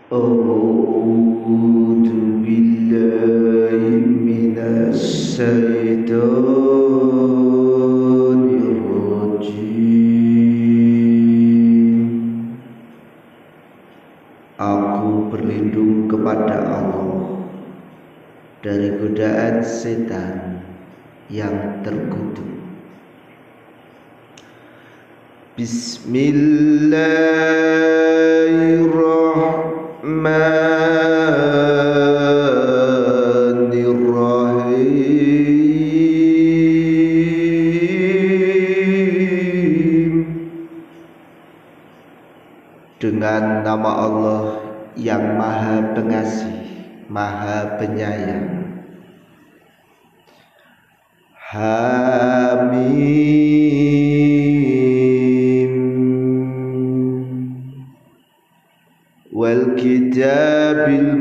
A'udzu billahi minasy syaithanir rajim. Aku berlindung kepada Allah dari godaan setan yang terkutuk. Bismillahirrahmanirrahim. Dengan nama Allah yang Maha Pengasih, Maha Penyayang. Hamim. Wal kitabil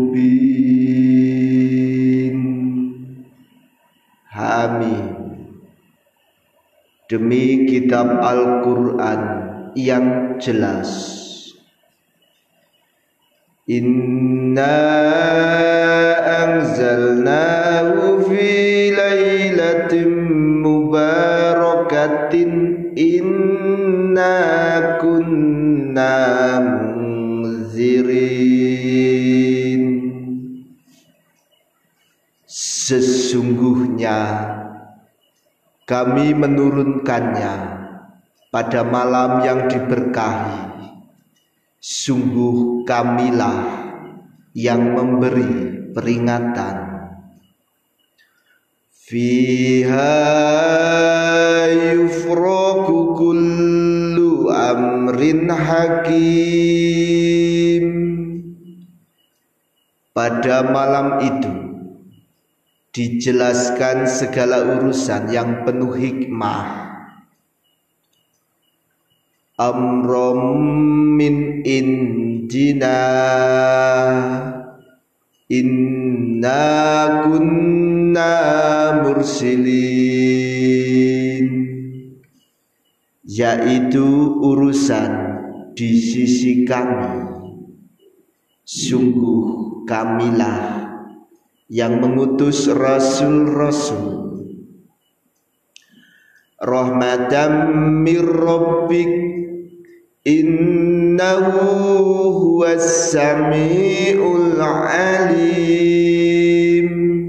mubin. Hamim. Demi kitab Al-Quran yang jelas. Inna anzalnahu fi lailatin mubarakatin inna kunna munzirin. Sesungguhnya kami menurunkannya pada malam yang diberkahi. Sungguh kamilah yang memberi peringatan. Fiha yufraku kullu amrin hakim. Pada malam itu dijelaskan segala urusan yang penuh hikmah. Amrom min indina inna kunna mursilin, yaitu urusan di sisi kami. Sungguh kamilah yang mengutus rasul-rasul. Rahmatan mir rabbik innahu huwas sami'ul alim.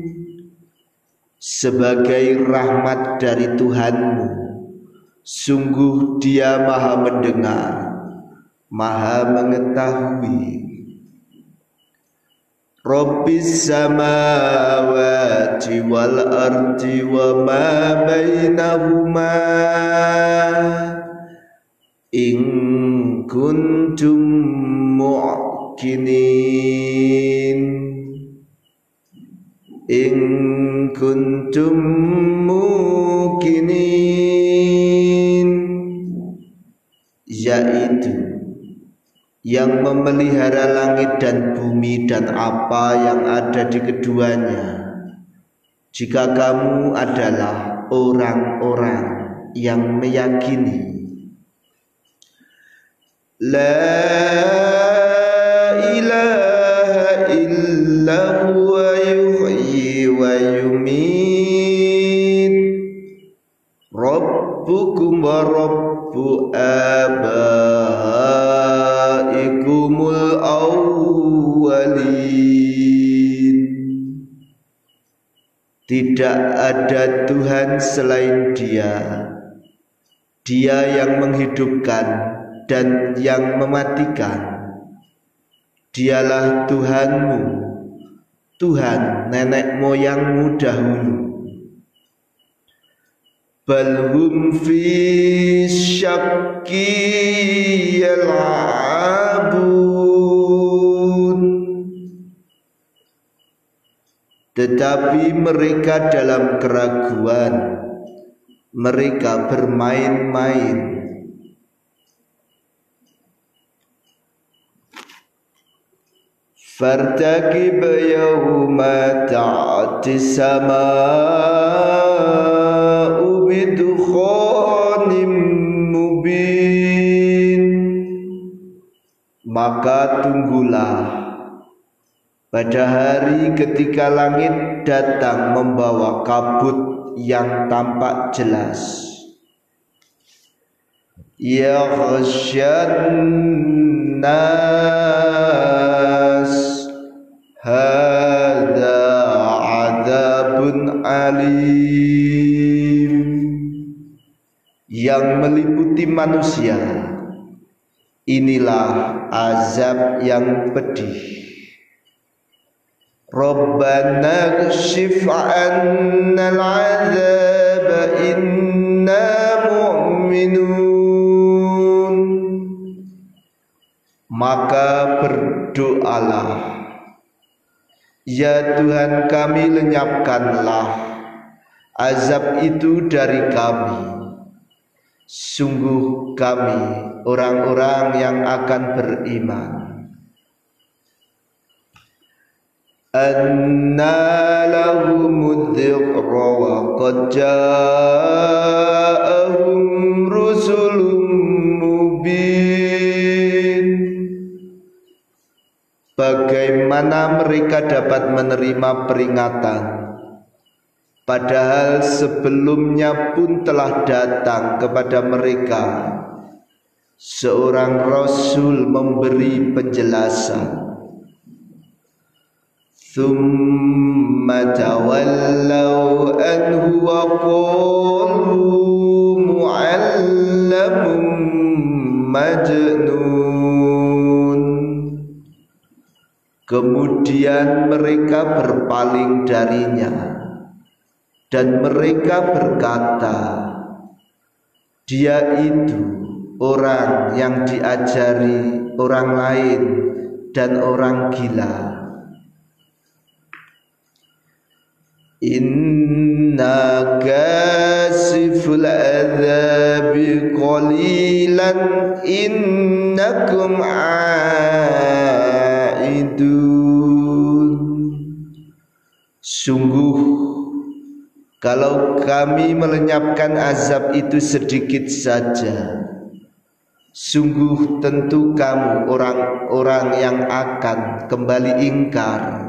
Sebagai rahmat dari Tuhanmu, sungguh Dia Maha mendengar, Maha mengetahui. Rabbis samawati wal ardi wa ma bainahuma in kuntum mu'qinin. In kuntum muqinin, yaitu yang memelihara langit dan bumi dan apa yang ada di keduanya, jika kamu adalah orang-orang yang meyakini. La ilaha illa huwa yuhyi wa yumit. Rabbukum wa rabbu abaikumul awwalin. Tidak ada Tuhan selain Dia. Dia yang menghidupkan dan yang mematikan. Dialah Tuhanmu, Tuhan nenek moyangmu dahulu. Balhum fi syakki yal'abun. Tetapi mereka dalam keraguan, mereka bermain-main. Fartaqib yawma ta'ti sama'u bidukhanim mubin maka tunggulah pada hari ketika langit datang membawa kabut yang tampak jelas. Yaghsyan nas hadza adzabun alim, yang meliputi manusia, inilah azab yang pedih. Rabbana kshif 'annal 'adzab inna mu'minun. Maka berdoalah, ya Tuhan kami, lenyapkanlah azab itu dari kami. Sungguh kami orang-orang yang akan beriman. Anna lahumud dzikra wa qad ja'ahum rusulun mubin. Bagaimana mereka dapat menerima peringatan, padahal sebelumnya pun telah datang kepada mereka seorang rasul memberi penjelasan. Thumma tawallaw anhu wa qalu mu'allamun majnun. Kemudian mereka berpaling darinya dan mereka berkata, dia itu orang yang diajari orang lain dan orang gila. Inna kasiful adzabi qalilan innakum aidun. Sungguh kalau kami melenyapkan azab itu sedikit saja, sungguh tentu kamu orang-orang yang akan kembali ingkar.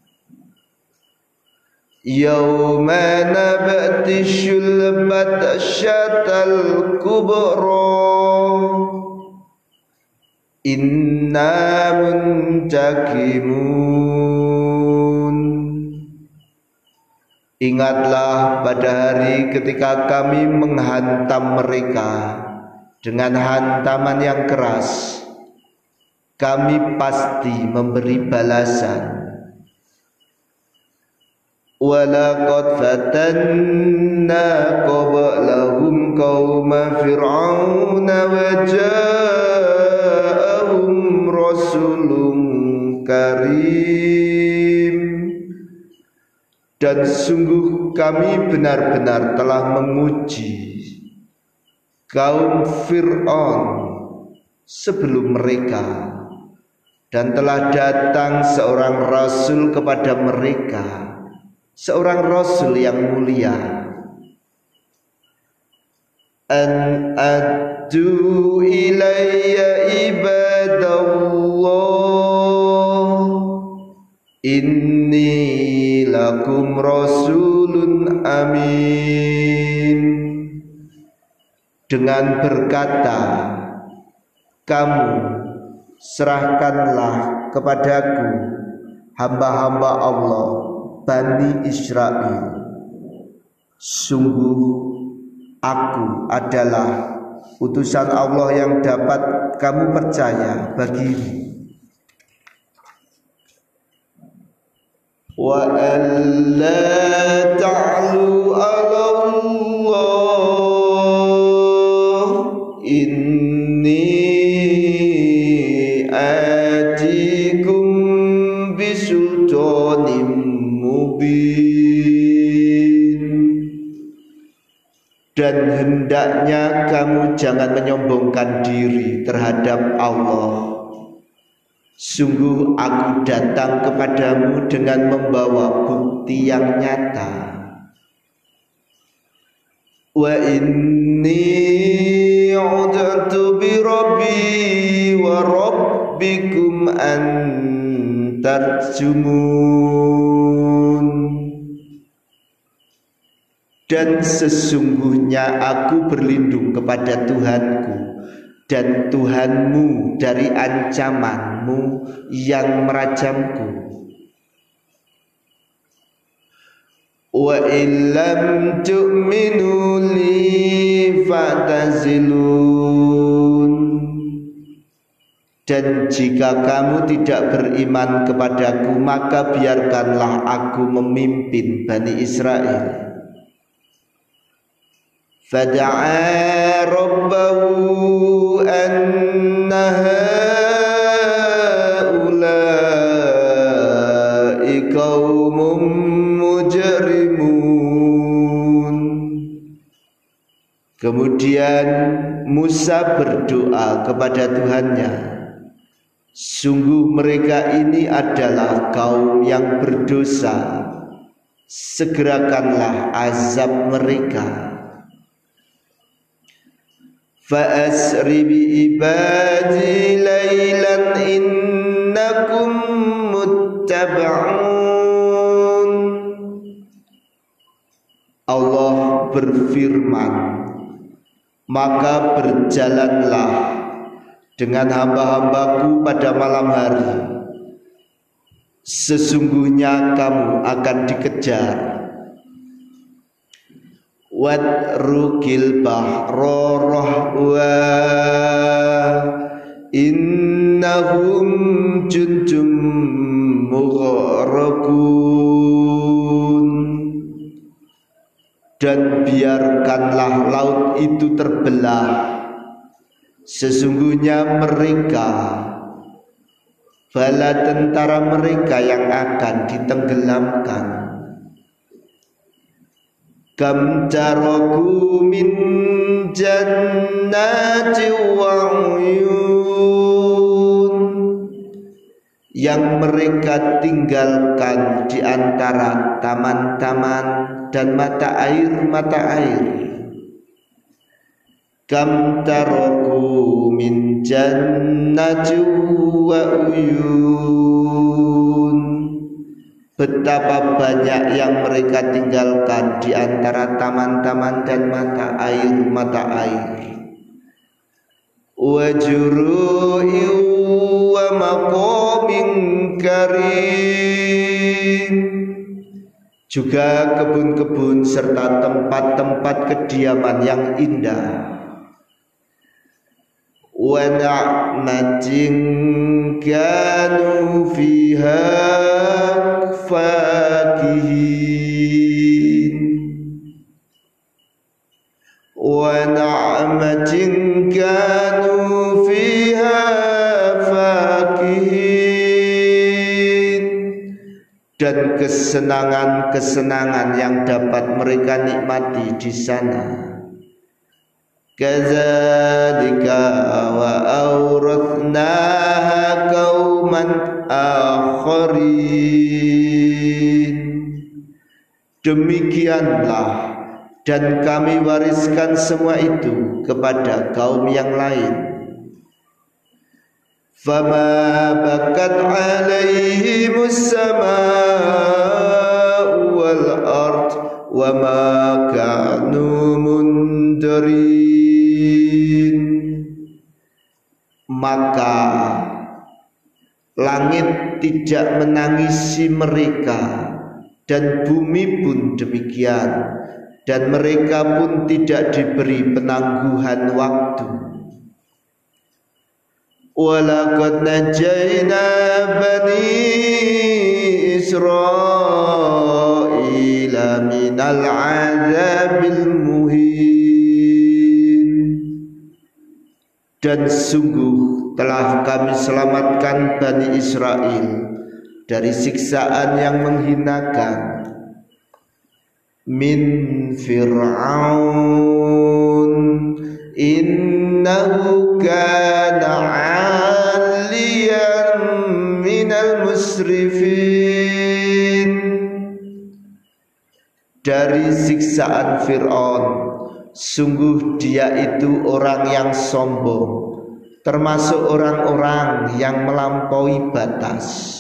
Yawma nabtishul batsyatal kubra inna muntakimun. Ingatlah pada hari ketika kami menghantam mereka dengan hantaman yang keras, kami pasti memberi balasan. Walaqad fatanna qablahum qauma fir'auna wa ja'ahum rasulun karim. Dan sungguh kami benar-benar telah menguji kaum Fir'aun sebelum mereka, dan telah datang seorang rasul kepada mereka, seorang rasul yang mulia. An addu ilayya ibadallah inni lakum rasulun amin. Dengan berkata, kamu serahkanlah kepadaku hamba-hamba Allah Bani Israel. Sungguh aku adalah utusan Allah yang dapat kamu percaya bagimu. Wa alla ta'lu 'ala Allah inni atikum bisultanim mubin. Dan hendaknya kamu jangan menyombongkan diri terhadap Allah. Sungguh aku datang kepadamu dengan membawa bukti yang nyata. Wa inni ud'tu bi rabbi wa rabbi rabbikum an tarjumun. Dan sesungguhnya aku berlindung kepada Tuhanku dan Tuhanmu dari ancamanmu yang merajamku. Wa illam tu'minu li fa'tazilun. Dan jika kamu tidak beriman kepadaku, maka biarkanlah aku memimpin Bani Israel. Fada'a rabbahu anna haula'i qaumun mujrimun. Kemudian Musa berdoa kepada Tuhannya, sungguh mereka ini adalah kaum yang berdosa, segerakanlah azab mereka. Fa'asri bi'ibadi laylan innakum muttaba'un. Allah berfirman, maka berjalanlah dengan hamba-hambaku pada malam hari, sesungguhnya kamu akan dikejar. Watrukil bahra rahwa innahum jundum mughraqun. Dan biarkanlah laut itu terbelah, sesungguhnya mereka bala tentara mereka yang akan ditenggelamkan. Kam taraku min jannati wa uyun. Yang mereka tinggalkan di antara taman-taman dan mata air. Kam taraku min jannati wa uyun. Betapa banyak yang mereka tinggalkan di antara taman-taman dan mata air. Wa juru'i wa maqamin karim. Juga kebun-kebun serta tempat-tempat kediaman yang indah. Wa na'matin kanu fiha fakihin. Wa na'matin kanu fiha fakihin. Dan kesenangan-kesenangan yang dapat mereka nikmati di sana. Kadzalika wa awrathnaha qauman akharin. Demikianlah dan kami wariskan semua itu kepada kaum yang lain. Fama bakat alaihimus samaa'u wal ard wa ma kanu mundarin. Maka langit tidak menangisi mereka dan bumi pun demikian, dan mereka pun tidak diberi penangguhan waktu. Walaqad najayna bani Israila minal azabil muhin. Dan sungguh telah kami selamatkan Bani Israel dari siksaan yang menghinakan. Min Fir'aun innahu kana 'aliyan minal musrifin. Dari siksaan Fir'aun, sungguh dia itu orang yang sombong termasuk orang-orang yang melampaui batas.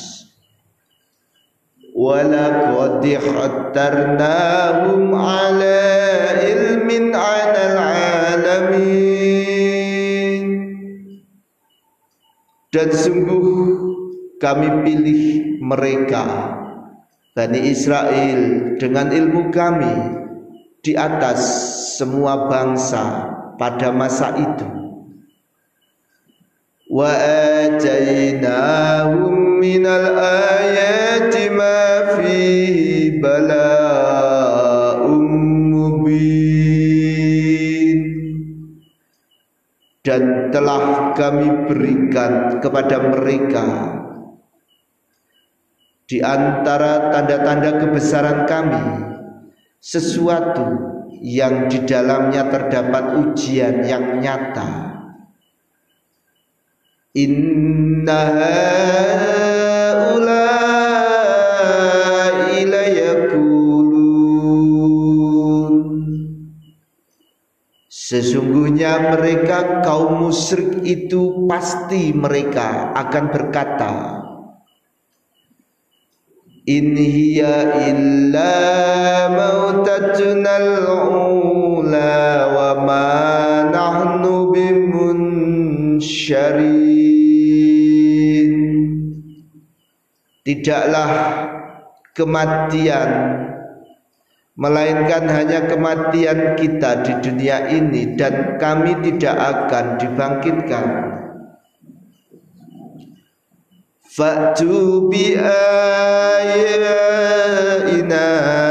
Walaqad ihtarnahum ala ilmin 'alal 'alamin. Dan sungguh kami pilih mereka Bani Israel dengan ilmu kami di atas semua bangsa pada masa itu. Wa atainahum minal ayati ma fihi bala'um mubin. Dan telah kami berikan kepada mereka di antara tanda-tanda kebesaran kami sesuatu yang di dalamnya terdapat ujian yang nyata. Inna haula'i layakulun. Sesungguhnya mereka kaum musyrik itu pasti mereka akan berkata, in hiya illa mautatuna al-ula wa ma nahnu bimunsyarin. Tidaklah kematian melainkan hanya kematian kita di dunia ini, dan kami tidak akan dibangkitkan. Fa'tu bi ayatina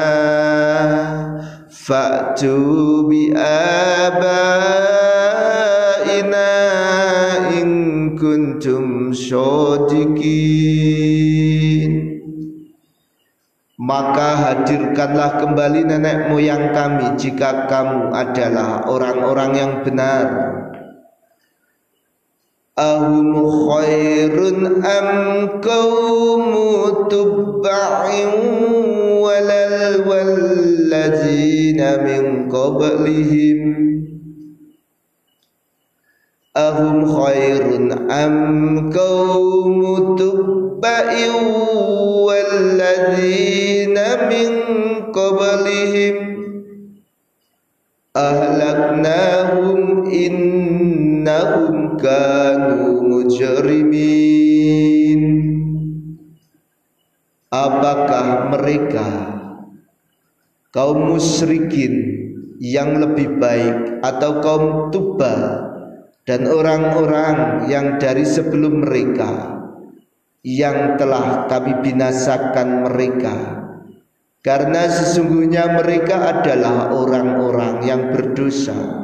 fa'tu bi abaina in kuntum shodiqin. Maka hadirkanlah kembali nenek moyang kami jika kamu adalah orang-orang yang benar. Ahum khairun am qaumu tubba'in walal walladzina min qablihim. Ahum khairun am qaumu tubba'in walladzina min qablihim ahlaknahum innahum kanu mujrimin. Apakah mereka kaum musyrikin yang lebih baik atau kaum Tuba dan orang-orang yang dari sebelum mereka yang telah kami binasakan mereka, karena sesungguhnya mereka adalah orang-orang yang berdosa.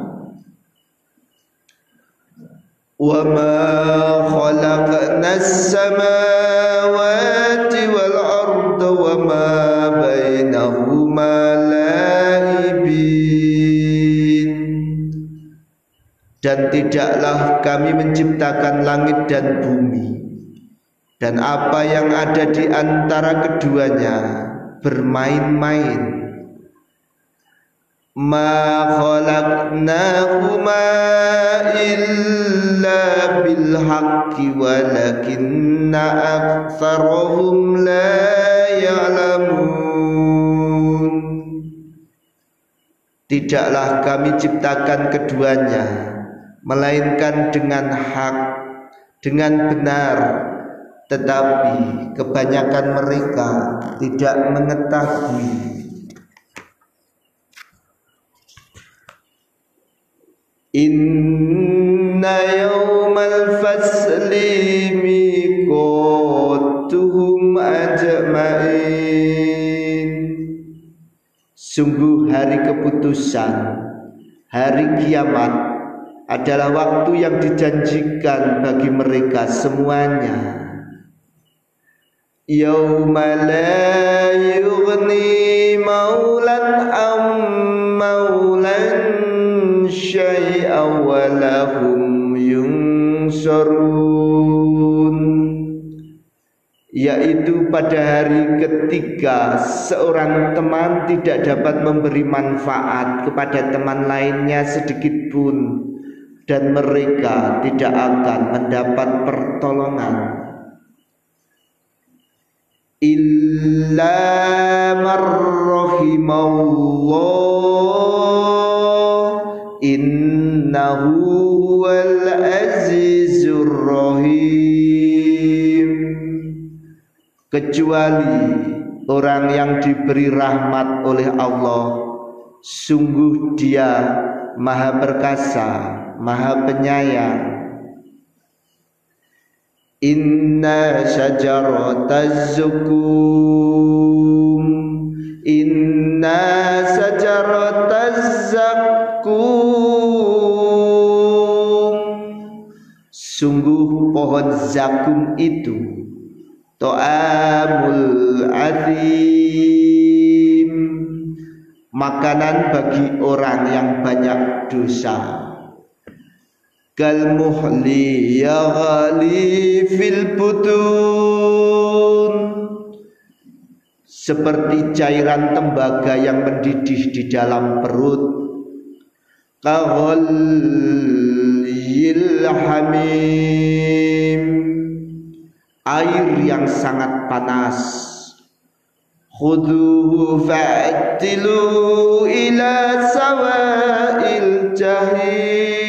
Wa ma khalaqnas samawati wal arda wa ma bainahuma la'ibin. Dan tidaklah kami menciptakan langit dan bumi dan apa yang ada di antara keduanya bermain-main. Ma khalaqnahuma illa bil haqqi walakinna aktsarahum la ya'lamun. Tidaklah kami ciptakan keduanya melainkan dengan hak, dengan benar, tetapi kebanyakan mereka tidak mengetahui. Inna yawmal fasli miqatuhum ajma'in. Sungguh hari keputusan, hari kiamat adalah waktu yang dijanjikan bagi mereka semuanya. Yauma la yughni maulan am maulan syai'an wa lahum yunsarun. Yaitu pada hari ketika seorang teman tidak dapat memberi manfaat kepada teman lainnya sedikit pun, dan mereka tidak akan mendapat pertolongan illa marrahimallah innahu huwal azizur rahim, kecuali orang yang diberi rahmat oleh Allah, sungguh Dia Maha Perkasa, Maha Penyayang. Inna syajarataz zakum, inna syajarataz zakum, sungguh pohon zakum itu ta'amul athim, makanan bagi orang yang banyak dosa. Kal muhli yaghli fil butun, seperti cairan tembaga yang mendidih di dalam perut. Kaghalyil hamim, air yang sangat panas. Khudhuhu fa'tilu ila sawa'il jahim,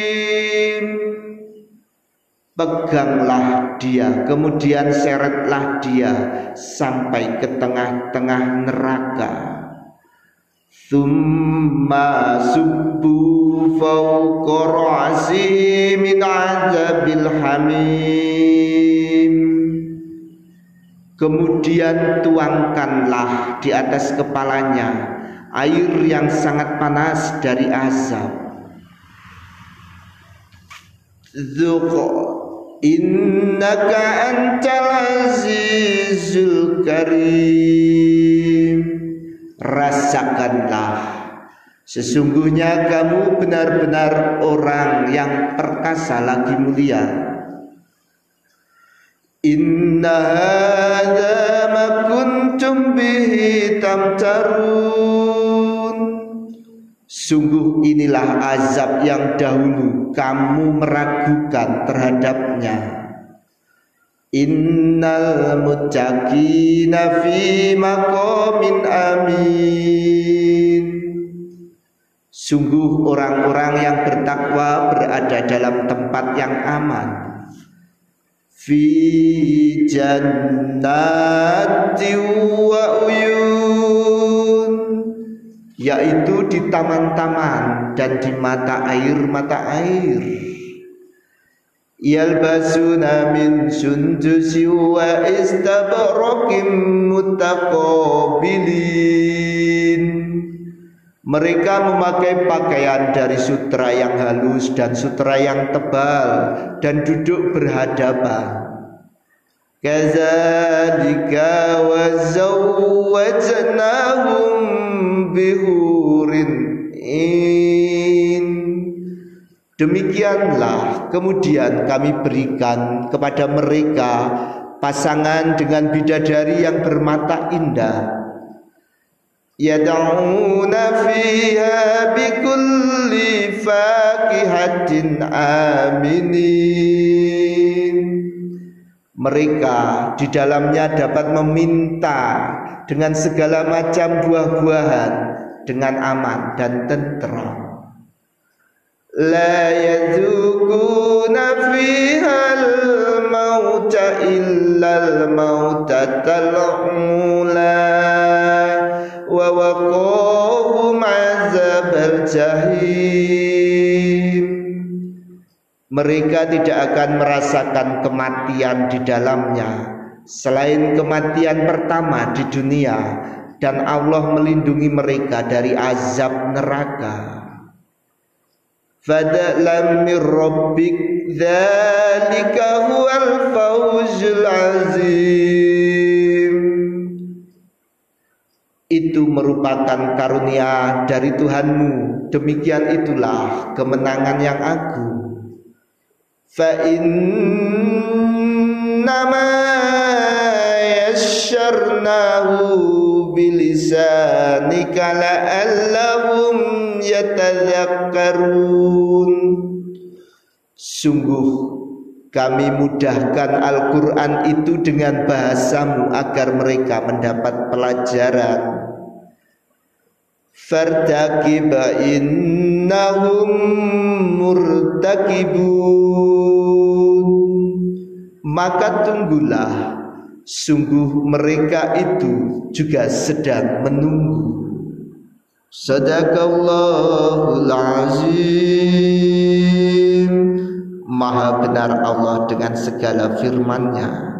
peganglah dia, kemudian seretlah dia sampai ke tengah-tengah neraka. Tsumma subbu fawqa ra'si min 'adzabil hamim, kemudian tuangkanlah di atas kepalanya air yang sangat panas dari azab. Dzuq innaka antal azizul karim, rasakanlah, sesungguhnya kamu benar-benar orang yang perkasa lagi mulia. Inna hadza ma kuntum bihi tamtarun, sungguh inilah azab yang dahulu kamu meragukan terhadapnya. Innal muttaqina fi maqamin amin, sungguh orang-orang yang bertakwa berada dalam tempat yang aman. Fi jannati wa uyun, yaitu di taman-taman dan di mata air. Yalbasuna min sundusi wa istabraqim mutaqabilin, mereka memakai pakaian dari sutra yang halus dan sutra yang tebal dan duduk berhadapan. Kadzalika wa zawwajnahum bihurin in, demikianlah kemudian kami berikan kepada mereka pasangan dengan bidadari yang bermata indah. Yad'una fiha bikulli fakihatin aminin, mereka di dalamnya dapat meminta dengan segala macam buah-buahan dengan aman dan tentram. La yadzuquna fihal mauta illal mautatal ula wa waqahum azabal jahim, mereka tidak akan merasakan kematian di dalamnya selain kematian pertama di dunia, dan Allah melindungi mereka dari azab neraka. Fadlan min rabbik dzalika huwal fawzul azim, itu merupakan karunia dari Tuhanmu, demikian itulah kemenangan yang agung. Fa innama yasyarnahu bilisanika la'allahum yatadzakkarun, Sungguh kami mudahkan Al-Quran itu dengan bahasamu agar mereka mendapat pelajaran. Fartaqib innahum murtaqibun. Maka tunggulah, sungguh mereka itu juga sedang menunggu. Sadaqallahul azim. Maha benar Allah dengan segala firman-Nya.